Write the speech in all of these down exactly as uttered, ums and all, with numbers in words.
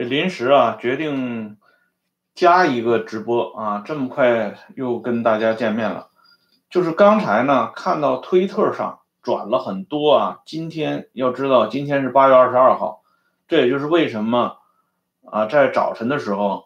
这临时啊决定加一个直播啊，这么快又跟大家见面了。就是刚才呢看到推特上转了很多啊，今天要知道今天是八月二十二号，这也就是为什么啊在早晨的时候，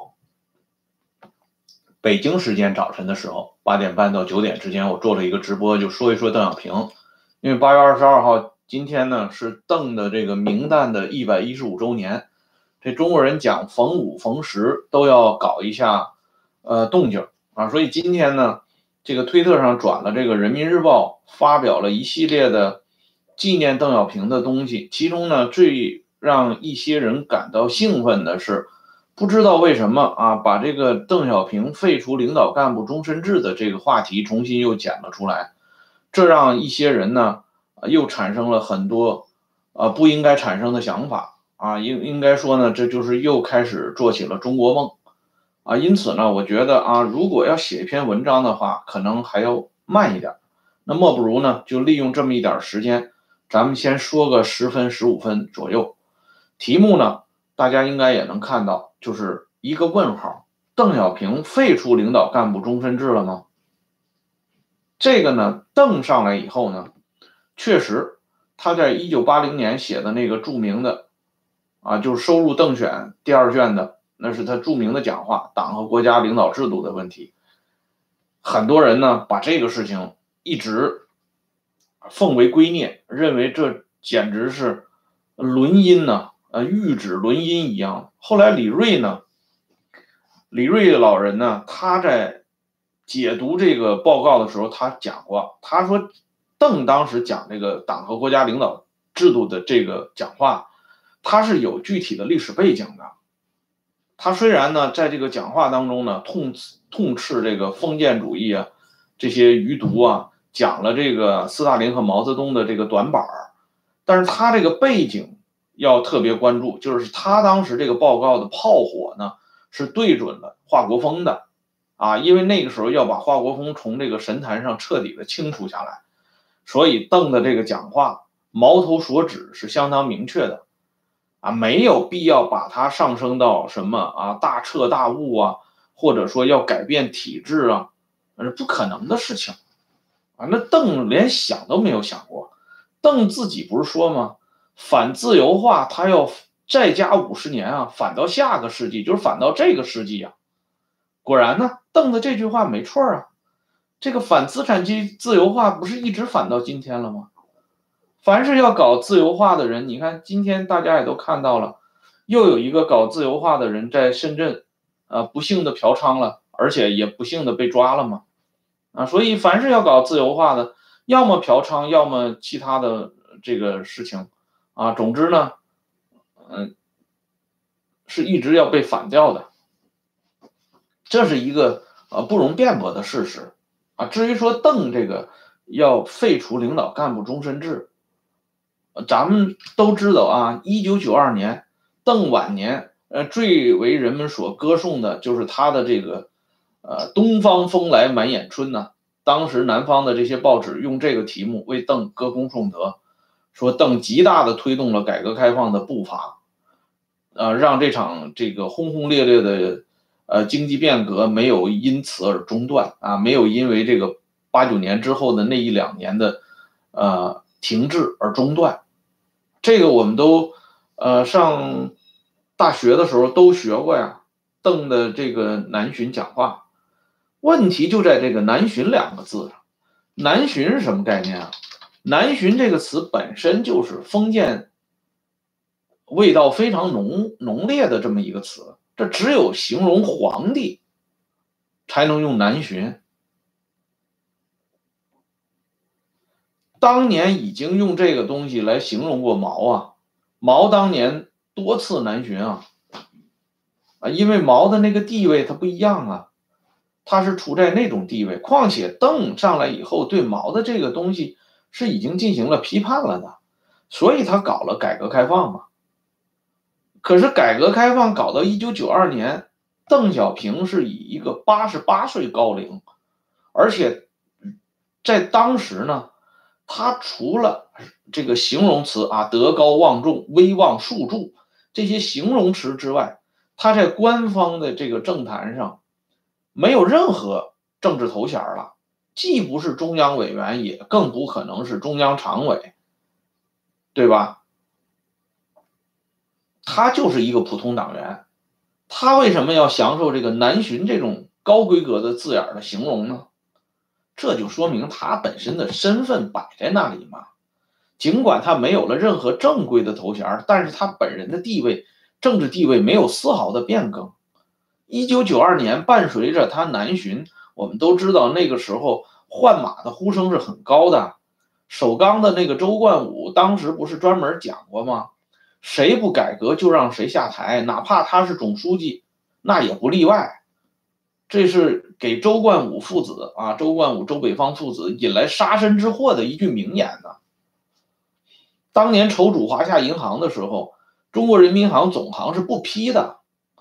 北京时间早晨的时候八点半到九点之间，我做了一个直播，就说一说邓小平。因为八月二十二号今天呢是邓的这个明旦的一百一十五周年。这中国人讲逢五逢十都要搞一下呃动静啊，所以今天呢，这个推特上转了这个人民日报发表了一系列的纪念邓小平的东西，其中呢最让一些人感到兴奋的是，不知道为什么啊，把这个邓小平废除领导干部终身制的这个话题重新又捡了出来，这让一些人呢又产生了很多呃不应该产生的想法。啊，应应该说呢，这就是又开始做起了中国梦啊。因此呢，我觉得啊，如果要写一篇文章的话，可能还要慢一点。那莫不如呢，就利用这么一点时间，咱们先说个十分十五分左右。题目呢，大家应该也能看到，就是一个问号：邓小平废除领导干部终身制了吗？这个呢，邓上来以后呢，确实他在一九八零年写的那个著名的。啊，就是收入邓选第二卷的，那是他著名的讲话，党和国家领导制度的问题。很多人呢把这个事情一直奉为圭臬，认为这简直是沦音呢，呃，谕旨沦音一样。后来李锐呢，李锐老人呢，他在解读这个报告的时候，他讲过，他说邓当时讲这个党和国家领导制度的这个讲话。他是有具体的历史背景的，他虽然呢在这个讲话当中呢痛痛斥这个封建主义啊，这些余毒啊，讲了这个斯大林和毛泽东的这个短板，但是他这个背景要特别关注，就是他当时这个报告的炮火呢是对准了华国锋的啊，因为那个时候要把华国锋从这个神坛上彻底的清除下来，所以邓的这个讲话矛头所指是相当明确的。啊，没有必要把它上升到什么啊大彻大悟啊，或者说要改变体制啊，那是不可能的事情啊。那邓连想都没有想过，邓自己不是说吗？反自由化，他要再加五十年啊，反到下个世纪，就是反到这个世纪啊。果然呢，邓的这句话没错啊，这个反资产阶级自由化不是一直反到今天了吗？凡是要搞自由化的人，你看今天大家也都看到了，又有一个搞自由化的人在深圳，呃，不幸的嫖娼了，而且也不幸的被抓了嘛，啊，所以凡是要搞自由化的，要么嫖娼，要么其他的这个事情，啊，总之呢，嗯，是一直要被反掉的，这是一个呃不容辩驳的事实，啊，至于说邓这个要废除领导干部终身制。咱们都知道啊，一九九二年邓晚年，呃，最为人们所歌颂的就是他的这个，呃，东方风来满眼春呢。当时南方的这些报纸用这个题目为邓歌功颂德，说邓极大的推动了改革开放的步伐，呃，让这场这个轰轰烈烈的呃经济变革没有因此而中断啊，没有因为这个八九年之后的那一两年的呃停滞而中断。这个我们都呃上大学的时候都学过呀，邓的这个南巡讲话。问题就在这个南巡两个字上。南巡是什么概念啊？南巡这个词本身就是封建味道非常浓浓烈的这么一个词，这只有形容皇帝才能用南巡。当年已经用这个东西来形容过毛啊，毛当年多次南巡啊，啊，因为毛的那个地位它不一样啊，他是处在那种地位。况且邓上来以后，对毛的这个东西是已经进行了批判了的，所以他搞了改革开放嘛。可是改革开放搞到一九九二年，邓小平是以一个八十八岁高龄，而且在当时呢。他除了这个形容词啊，德高望重、威望树柱， 这些形容词之外，他在官方的这个政坛上没有任何政治头衔了，既不是中央委员，也更不可能是中央常委，对吧？他就是一个普通党员，他为什么要享受这个南巡这种高规格的字眼的形容呢？这就说明他本身的身份摆在那里嘛。尽管他没有了任何正规的头衔，但是他本人的地位，政治地位没有丝毫的变更。一九九二年，伴随着他南巡，我们都知道那个时候换马的呼声是很高的。首钢的那个周冠武当时不是专门讲过吗？谁不改革就让谁下台，哪怕他是总书记，那也不例外。这是给周冠武父子啊，周冠武、周北方父子引来杀身之祸的一句名言呢。当年筹组华夏银行的时候，中国人民银行总行是不批的，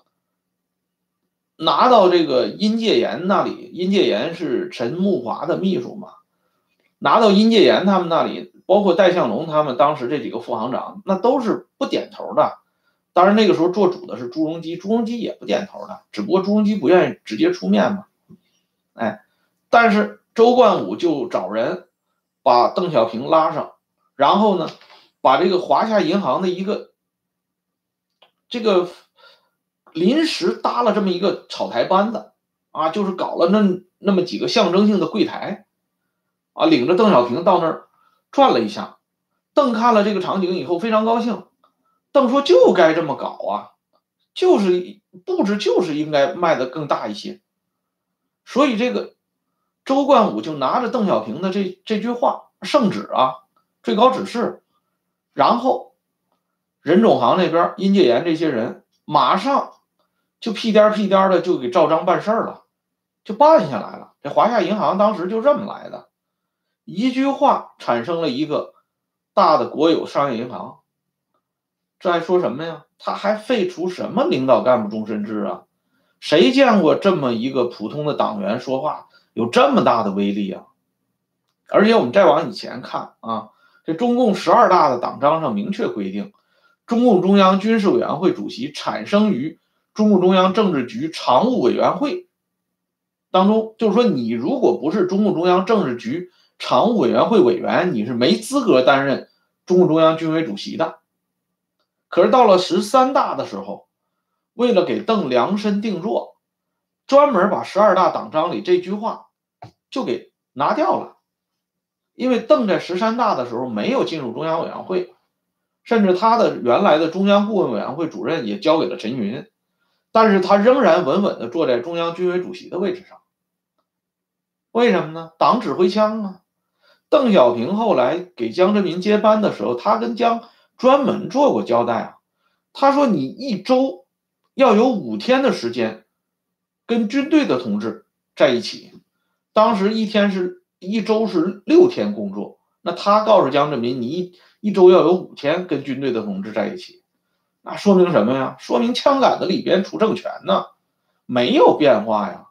拿到这个殷介言那里，殷介言是陈木华的秘书嘛，拿到殷介言他们那里，包括戴相龙他们当时这几个副行长，那都是不点头的。当然那个时候做主的是朱镕基，朱镕基也不点头的，只不过朱镕基不愿意直接出面嘛。哎，但是周冠武就找人把邓小平拉上，然后呢，把这个华夏银行的一个这个临时搭了这么一个草台班子啊，就是搞了那那么几个象征性的柜台啊，领着邓小平到那儿转了一下。邓看了这个场景以后非常高兴，邓说就该这么搞啊，就是布置就是应该卖得更大一些。所以这个周冠武就拿着邓小平的这这句话圣旨啊，最高指示，然后任总行那边殷介言这些人马上就屁颠屁颠的就给照章办事了，就办下来了。这华夏银行当时就这么来的，一句话产生了一个大的国有商业银行。这还说什么呀？他还废除什么领导干部终身制啊？谁见过这么一个普通的党员说话有这么大的威力啊？而且我们再往以前看啊，这中共十二大的党章上明确规定，中共中央军事委员会主席产生于中共中央政治局常务委员会当中，就是说你如果不是中共中央政治局常务委员会委员，你是没资格担任中共中央军委主席的。可是到了十三大的时候，为了给邓量身定做，专门把十二大党章里这句话就给拿掉了。因为邓在十三大的时候没有进入中央委员会，甚至他的原来的中央顾问委员会主任也交给了陈云，但是他仍然稳稳地坐在中央军委主席的位置上。为什么呢？党指挥枪啊。邓小平后来给江泽民接班的时候，他跟江专门做过交代啊。他说你一周要有五天的时间跟军队的同志在一起，当时一天是一周是六天工作，那他告诉江泽民，你一一周要有五天跟军队的同志在一起，那说明什么呀？说明枪杆子里边出政权呢，没有变化呀。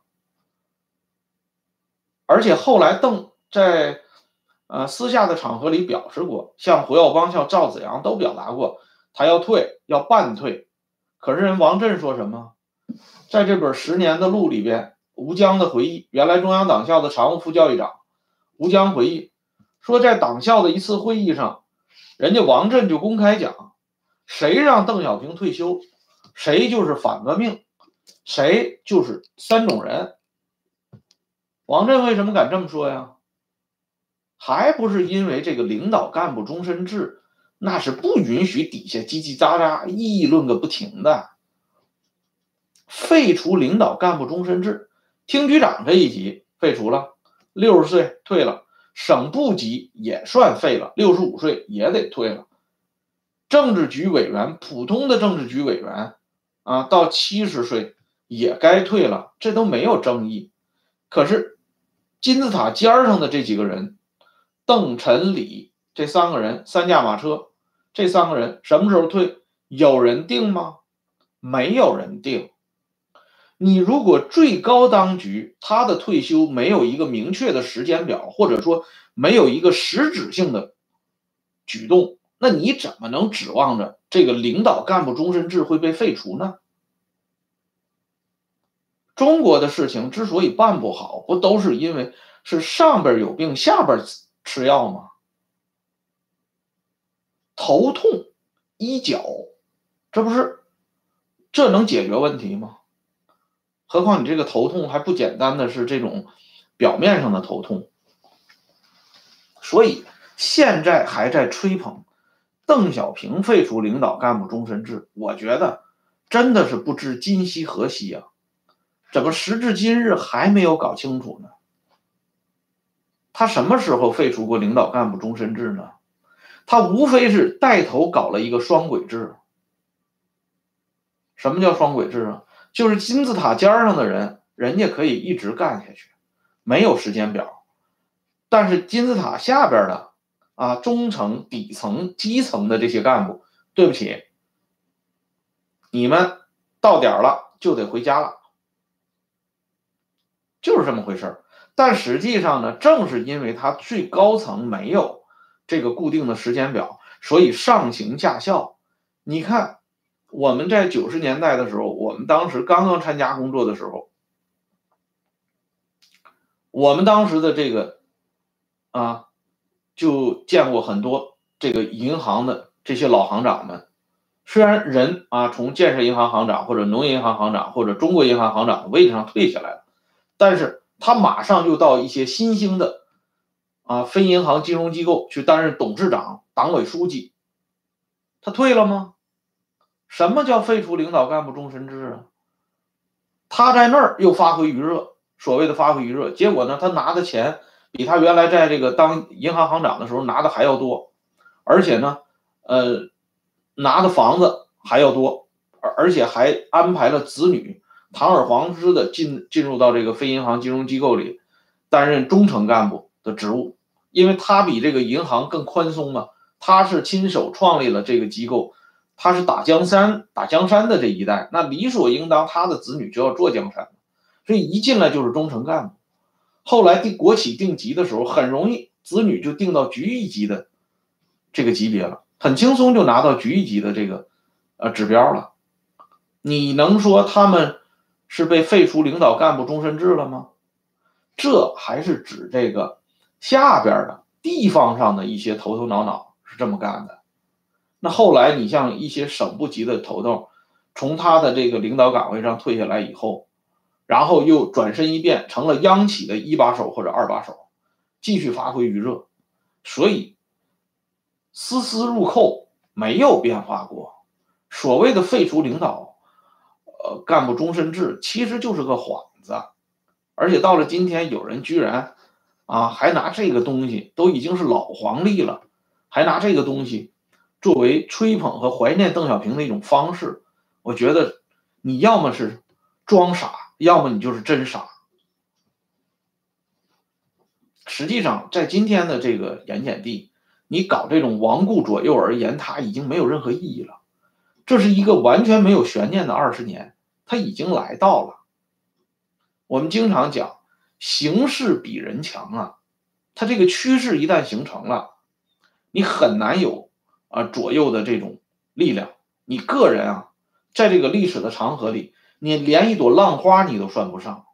而且后来邓在呃私下的场合里表示过，像胡耀邦、像赵紫阳都表达过，他要退，要半退。可是人王震说什么？在这本《十年的路》里边，吴江的回忆，原来中央党校的常务副教育长吴江回忆说，在党校的一次会议上，人家王震就公开讲，谁让邓小平退休，谁就是反革命，谁就是三种人。王震为什么敢这么说呀？还不是因为这个领导干部终身制，那是不允许底下叽叽喳喳议论个不停的。废除领导干部终身制，厅局长这一级废除了，六十岁退了，省部级也算废了，六十五岁也得退了。政治局委员，普通的政治局委员啊，到七十岁也该退了，这都没有争议。可是金字塔尖上的这几个人，邓、陈、李这三个人，三驾马车，这三个人什么时候退？有人定吗？没有人定。你如果最高当局他的退休没有一个明确的时间表，或者说没有一个实质性的举动， 那你怎么能指望着这个领导干部终身制会被废除呢？中国的事情之所以办不好，不都是因为是上边有病，下边吃药吗？头痛医脚，这不是这能解决问题吗？何况你这个头痛还不简单的是这种表面上的头痛，所以现在还在吹捧邓小平废除领导干部终身制，我觉得真的是不知今夕何夕啊！怎么时至今日还没有搞清楚呢？他什么时候废除过领导干部终身制呢？他无非是带头搞了一个双轨制。什么叫双轨制啊？就是金字塔尖上的人，人家可以一直干下去，没有时间表，但是金字塔下边的啊中层、底层、基层的这些干部，对不起，你们到点了就得回家了，就是这么回事。但实际上呢，正是因为他最高层没有这个固定的时间表，所以上行下效。你看我们在九十年代的时候，我们当时刚刚参加工作的时候，我们当时的这个啊，就见过很多这个银行的这些老行长们。虽然人啊从建设银行行长或者农业银行行长或者中国银行行长的位置上退下来了，但是他马上又到一些新兴的啊非银行金融机构去担任董事长、党委书记，他退了吗？什么叫废除领导干部终身制啊？他在那儿又发挥余热，所谓的发挥余热，结果呢，他拿的钱比他原来在这个当银行行长的时候拿的还要多，而且呢，呃，拿的房子还要多，而而且还安排了子女堂而皇之的进进入到这个非银行金融机构里担任中层干部的职务，因为他比这个银行更宽松嘛，他是亲手创立了这个机构。他是打江山打江山的这一代，那理所应当他的子女就要做江山，所以一进来就是中层干部。后来定国企定级的时候，很容易子女就定到局一级的这个级别了，很轻松就拿到局一级的这个呃指标了。你能说他们是被废除领导干部终身制了吗？这还是指这个下边的地方上的一些头头脑脑是这么干的。那后来你像一些省部级的头头，从他的这个领导岗位上退下来以后，然后又转身一变成了央企的一把手或者二把手，继续发挥余热，所以丝丝入扣，没有变化过。所谓的废除领导呃干部终身制，其实就是个幌子。而且到了今天，有人居然啊还拿这个东西，都已经是老黄历了，还拿这个东西作为吹捧和怀念邓小平的一种方式，我觉得你要么是装傻，要么你就是真傻。实际上，在今天的这个盐碱地，你搞这种亡顾左右而言他，已经没有任何意义了。这是一个完全没有悬念的二十年，它已经来到了。我们经常讲，形势比人强啊，它这个趋势一旦形成了，你很难有啊左右的这种力量。你个人啊，在这个历史的长河里，你连一朵浪花你都算不上。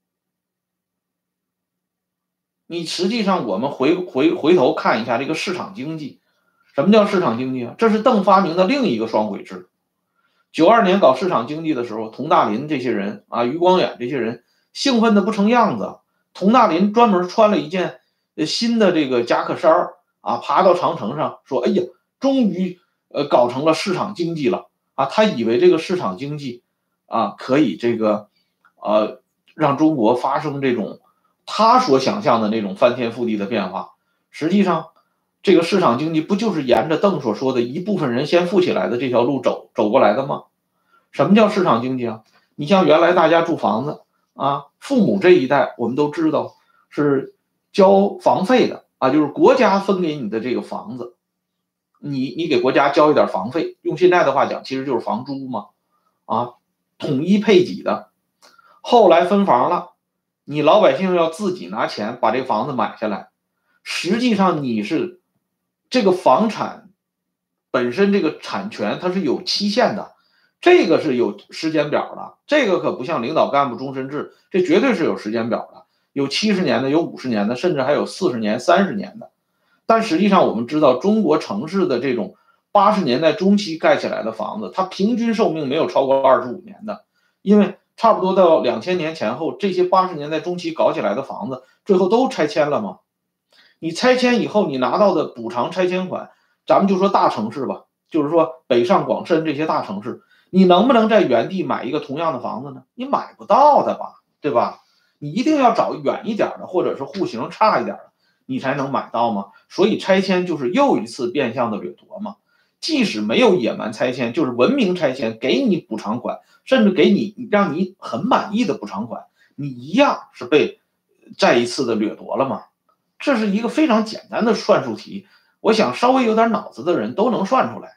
你实际上，我们回回回头看一下这个市场经济，什么叫市场经济啊？这是邓发明的另一个双轨制。九二年搞市场经济的时候，佟大林这些人啊，余光远这些人兴奋的不成样子。佟大林专门穿了一件新的这个夹克衫啊，爬到长城上说：“哎呀，终于呃搞成了市场经济了啊！”他以为这个市场经济啊可以这个呃让中国发生这种他所想象的那种翻天覆地的变化。实际上，这个市场经济不就是沿着邓所说的一部分人先富起来的这条路走走过来的吗？什么叫市场经济啊？你像原来大家住房子啊，父母这一代我们都知道是交房费的啊，就是国家分给你的这个房子，你你给国家交一点房费，用现在的话讲，其实就是房租嘛，啊，统一配给的。后来分房了，你老百姓要自己拿钱把这个房子买下来，实际上你是这个房产本身这个产权它是有期限的，这个是有时间表的，这个可不像领导干部终身制，这绝对是有时间表的，有七十年的，有五十年的，甚至还有四十年、三十年的。但实际上我们知道，中国城市的这种八十年代中期盖起来的房子，它平均寿命没有超过二十五年的，因为差不多到两千年前后，这些八十年代中期搞起来的房子，最后都拆迁了嘛。你拆迁以后，你拿到的补偿拆迁款，咱们就说大城市吧，就是说北上广深这些大城市，你能不能在原地买一个同样的房子呢？你买不到的吧，对吧？你一定要找远一点的，或者是户型差一点的，你才能买到吗？所以拆迁就是又一次变相的掠夺嘛。即使没有野蛮拆迁，就是文明拆迁，给你补偿款，甚至给你让你很满意的补偿款，你一样是被再一次的掠夺了嘛。这是一个非常简单的算术题，我想稍微有点脑子的人都能算出来。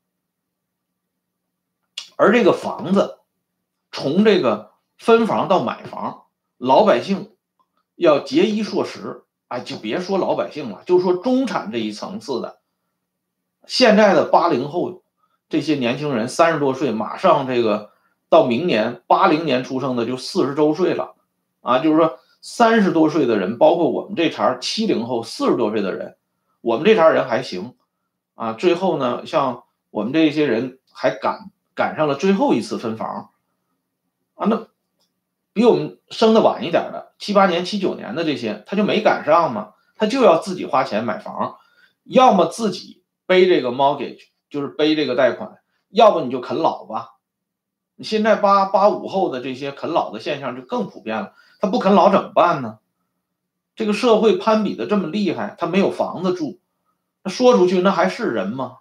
而这个房子从这个分房到买房，老百姓要节衣缩食，哎，就别说老百姓了，就说中产这一层次的，现在的八零后这些年轻人三十多岁，马上这个到明年八零年出生的就四十周岁了啊，就是说三十多岁的人，包括我们这茬七零后四十多岁的人，我们这茬人还行啊。最后呢，像我们这些人还赶赶上了最后一次分房啊，那比我们生的晚一点的七八年、七九年的这些，他就没赶上嘛，他就要自己花钱买房，要么自己背这个 mortgage， 就是背这个贷款，要不你就啃老吧。现在八八五后的这些啃老的现象就更普遍了。他不啃老怎么办呢？这个社会攀比的这么厉害，他没有房子住，那说出去那还是人吗？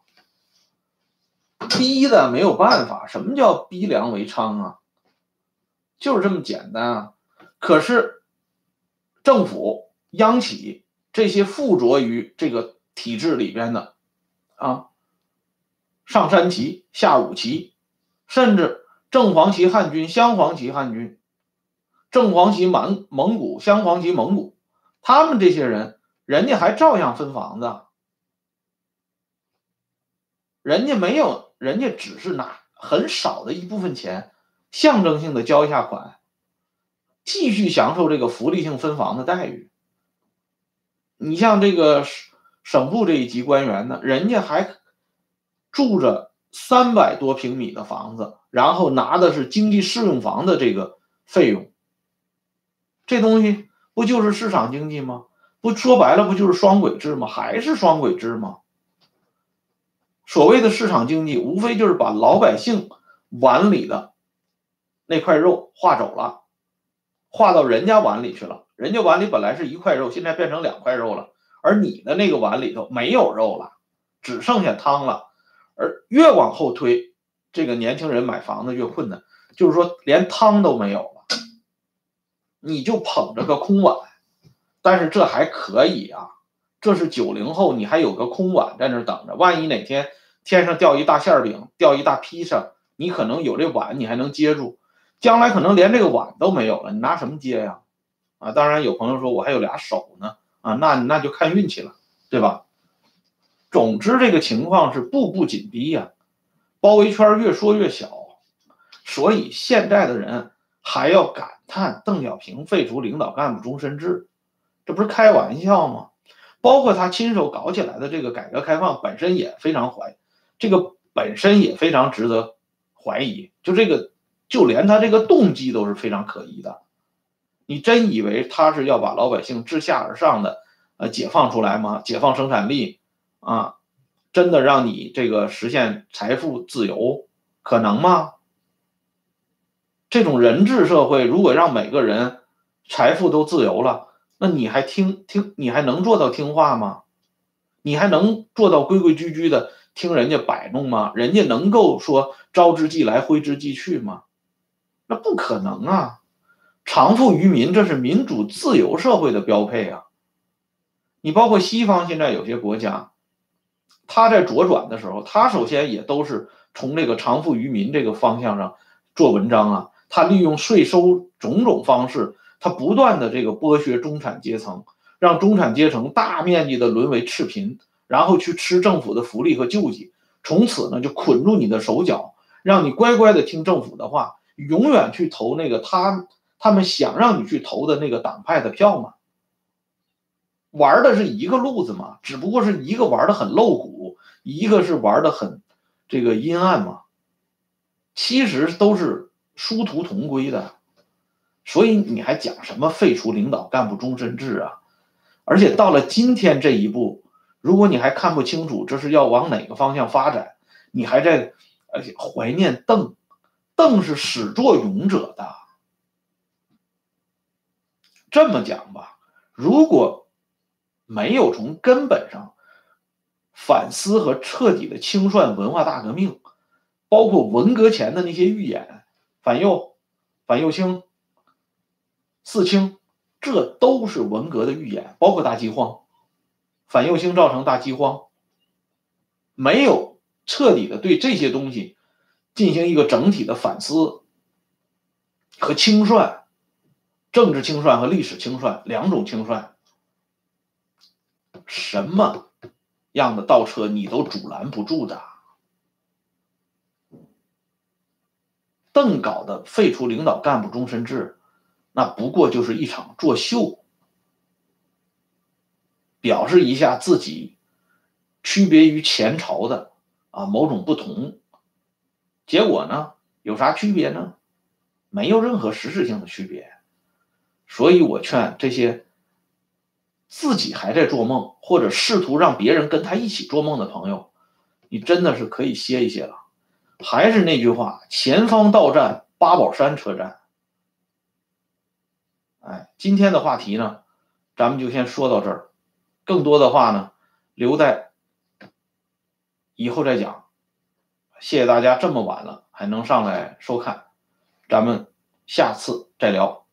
逼的没有办法。什么叫逼良为娼啊？就是这么简单啊。可是政府、央企这些附着于这个体制里边的啊，上三旗、下五旗，甚至正黄旗汉军、镶黄旗汉军。正黄旗满蒙古，镶黄旗蒙古，他们这些人，人家还照样分房子，人家没有，人家只是拿很少的一部分钱，象征性的交一下款，继续享受这个福利性分房的待遇。你像这个省部这一级官员呢，人家还住着三百多平米的房子，然后拿的是经济适用房的这个费用。这东西不就是市场经济吗？不说白了不就是双轨制吗？还是双轨制吗？所谓的市场经济无非就是把老百姓碗里的那块肉划走了，划到人家碗里去了，人家碗里本来是一块肉，现在变成两块肉了，而你的那个碗里头没有肉了，只剩下汤了。而越往后推，这个年轻人买房子越困难，就是说连汤都没有了，你就捧着个空碗。但是这还可以啊，这是九零后，你还有个空碗在那等着，万一哪天天上掉一大馅饼，掉一大披萨，你可能有这碗，你还能接住。将来可能连这个碗都没有了，你拿什么接呀？啊，当然有朋友说我还有俩手呢，啊，那那就看运气了，对吧？总之这个情况是步步紧逼呀、啊，包围圈越缩越小，所以现在的人还要感叹邓小平废除领导干部终身制，这不是开玩笑吗？包括他亲手搞起来的这个改革开放本身也非常怀，这个本身也非常值得怀疑，就这个就连他这个动机都是非常可疑的。你真以为他是要把老百姓自下而上的呃解放出来吗？解放生产力啊，真的让你这个实现财富自由可能吗？这种人治社会，如果让每个人财富都自由了，那你还听听，你还能做到听话吗？你还能做到规规矩矩的听人家摆弄吗？人家能够说招之即来，挥之即去吗？那不可能啊！偿付于民，这是民主自由社会的标配啊！你包括西方现在有些国家，他在左转的时候，他首先也都是从这个偿付于民这个方向上做文章啊。他利用税收种种方式，他不断的这个剥削中产阶层，让中产阶层大面积的沦为赤贫，然后去吃政府的福利和救济， 从此呢就捆住你的手脚，让你乖乖的听政府的话，永远去投那个他他们想让你去投的那个党派的票吗？玩的是一个路子嘛，只不过是一个玩的很露骨，一个是玩的很这个阴暗嘛，其实都是殊途同归的。所以你还讲什么废除领导干部终身制啊？而且到了今天这一步，如果你还看不清楚这是要往哪个方向发展，你还在而且怀念邓，邓是始作俑者的。这么讲吧，如果没有从根本上反思和彻底的清算文化大革命，包括文革前的那些预演，反右、反右倾、四清，这都是文革的预演，包括大饥荒，反右倾造成大饥荒，没有彻底的对这些东西进行一个整体的反思和清算，政治清算和历史清算两种清算，什么样的倒车你都阻拦不住的。邓搞的废除领导干部终身制，那不过就是一场作秀，表示一下自己区别于前朝的啊某种不同。结果呢，有啥区别呢？没有任何实质性的区别。所以我劝这些自己还在做梦，或者试图让别人跟他一起做梦的朋友，你真的是可以歇一歇了。还是那句话，前方到站八宝山车站。哎，今天的话题呢，咱们就先说到这儿，更多的话呢，留在以后再讲。谢谢大家这么晚了还能上来收看，咱们下次再聊。